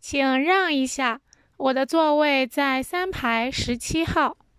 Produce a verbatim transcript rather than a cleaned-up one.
请让一下，我的座位在三排十七号。